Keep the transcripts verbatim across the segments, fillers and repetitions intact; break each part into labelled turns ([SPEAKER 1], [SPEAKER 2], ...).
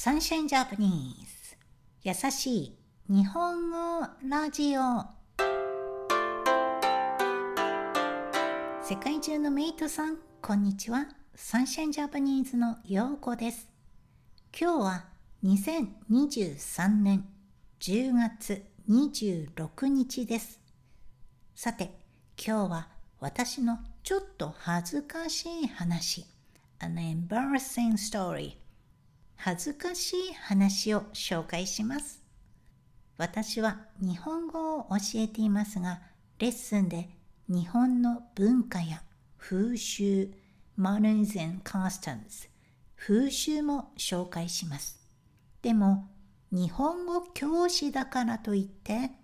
[SPEAKER 1] サンシャインジャパニーズ優しい日本語ラジオ。世界中のメイトさん、こんにちは。サンシャインジャパニーズのようこです。今日はにせんにじゅうさんねんじゅうがつにじゅうろくにちです。さて、今日は私のちょっと恥ずかしい話、An embarrassing story、恥ずかしい話を紹介します。私は日本語を教えていますが、レッスンで日本の文化や風習、manners and customs、風習も紹介します。でも、日本語教師だからといって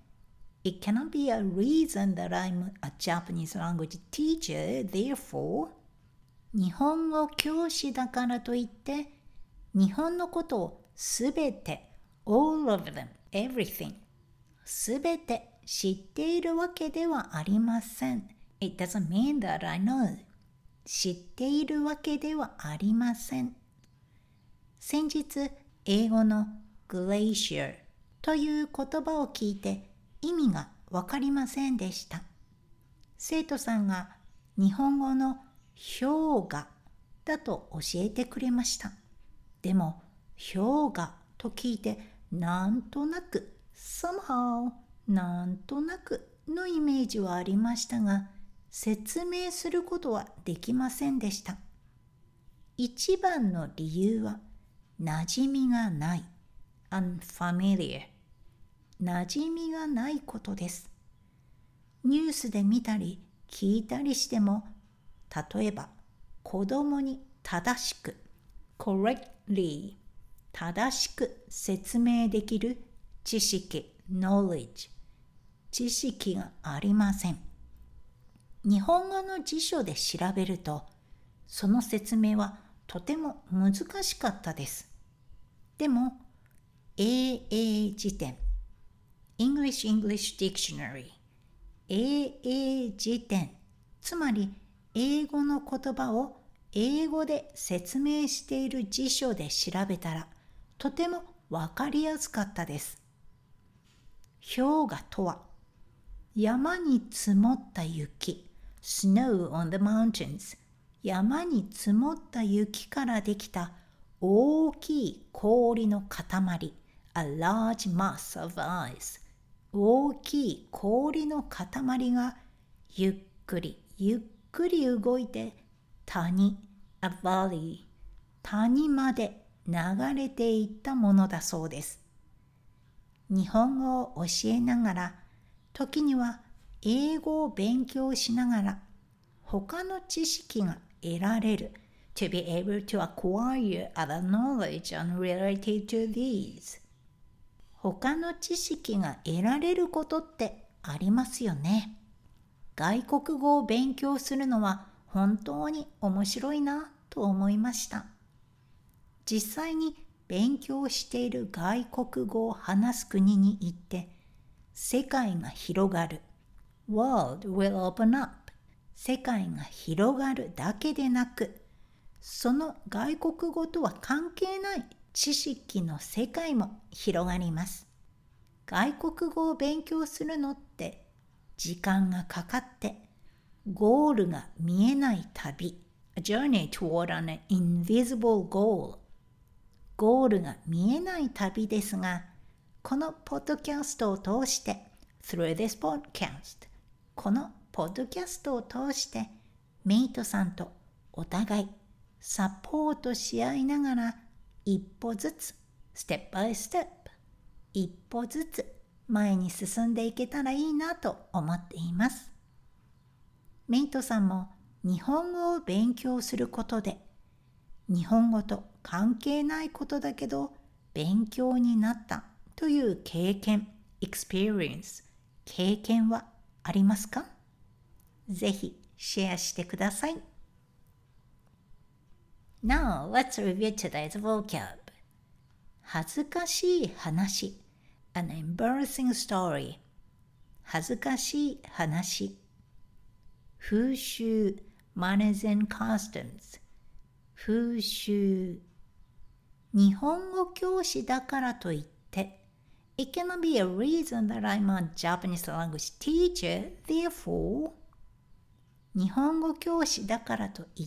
[SPEAKER 1] 、It cannot be a reason that I'm a Japanese language teacher, therefore, 日本語教師だからといって、日本のことをすべて、all of them, everything、すべて知っているわけではありません。It doesn't mean that I know. 知っているわけではありません。先日、英語の glacier という言葉を聞いて意味がわかりませんでした。生徒さんが日本語の氷河だと教えてくれました。でも、氷河と聞いてなんとなく、somehow、なんとなくのイメージはありましたが、説明することはできませんでした。一番の理由は、馴染みがない、unfamiliar、馴染みがないことです。ニュースで見たり聞いたりしても、例えば、子供に正しく、correctly、正しく説明できる知識、knowledge、知識がありません。日本語の辞書で調べると、その説明はとても難しかったです。でも、エーエー 辞典、English English Dictionary、エーエー 辞典、つまり英語の言葉を英語で説明している辞書で調べたら、とてもわかりやすかったです。氷河とは、山に積もった雪、snow on the mountains、山に積もった雪からできた大きい氷の塊、a large mass of ice、大きい氷の塊がゆっくりゆっくり動いて谷、a valley、谷まで流れていったものだそうです。日本語を教えながら、時には英語を勉強しながら、他の知識が得られる。to be able to acquire other knowledge unrelated to these。他の知識が得られることってありますよね。外国語を勉強するのは本当に面白いなと思いました。実際に勉強している外国語を話す国に行って、世界が広がる。World will open up。世界が広がるだけでなく、その外国語とは関係ない知識の世界も広がります。外国語を勉強するのって時間がかかって、ゴールが見えない旅、A journey toward an invisible goal。ゴールが見えない旅ですが、このポッドキャストを通して、through this podcast、このポッドキャストを通して、メイトさんとお互いサポートし合いながら、一歩ずつ、step by step、一歩ずつ前に進んでいけたらいいなと思っています。メイトさんも日本語を勉強することで、日本語と関係ないことだけど勉強になったという経験、experience、経験はありますか？ぜひシェアしてください。Now, let's review today's vocab. 恥ずかしい話、an embarrassing story。恥ずかしい話。風習、manners and customs。風習。 日本語教師だからといって、It cannot be a reason that I'm a Japanese language teacher, therefore 日本語教師だからといって、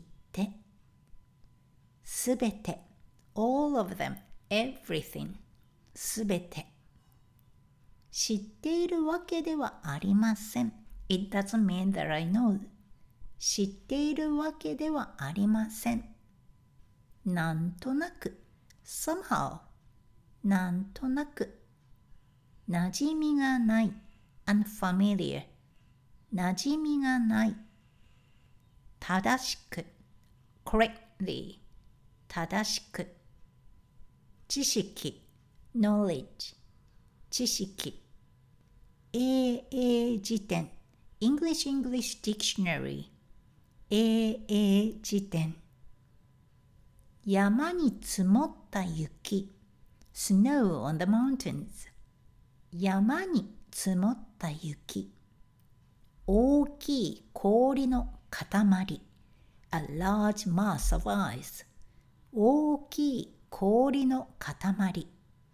[SPEAKER 1] すべて all of them, everything すべて知っているわけではありません。It doesn't mean that I know 知っているわけではありません。なんとなくsomehow なんとなく馴染みがない unfamiliar 馴染みがない正しく correctly 正しく知識 knowledge 知識エーエー 辞典 English English Dictionary エーエー 辞典山に積もった雪 Snow on the mountains 山に積もった雪大きい氷の塊 A large mass of ice 大きい氷の塊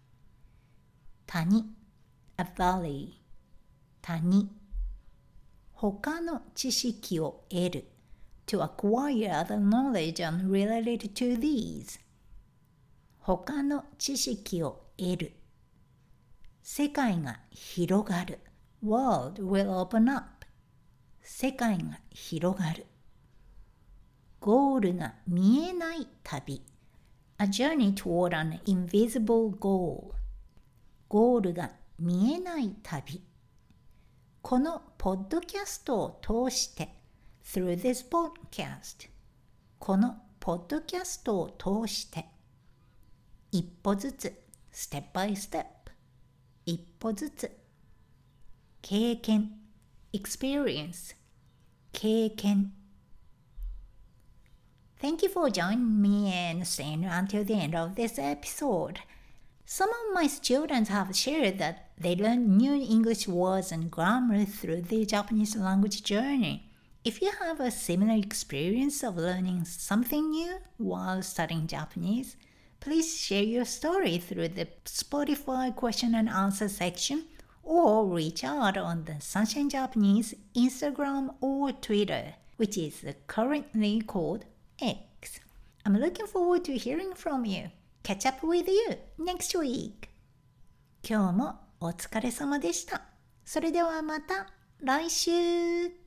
[SPEAKER 1] 谷 A valley 谷他の知識を得る To acquire other knowledge unrelated to these 他の知識を得る世界が広がる World will open up 世界が広がるゴールが見えない旅 A journey toward an invisible goal ゴールが見えない旅このポッドキャストを通して Through this podcast このポッドキャストを通して一歩ずつ Step by step 一歩ずつ経験 Experience 経験 Thank you for joining me and staying until the end of this episode. Some of my students have shared that they learned new English words and grammar through the Japanese language journey. If you have a similar experience of learning something new while studying Japanese, please share your story through the Spotify question and answer section or reach out on the Sunshine Japanese Instagram or Twitter, which is currently called X. I'm looking forward to hearing from you. Catch up with you next week. 今日もお疲れ様でした。それではまた来週。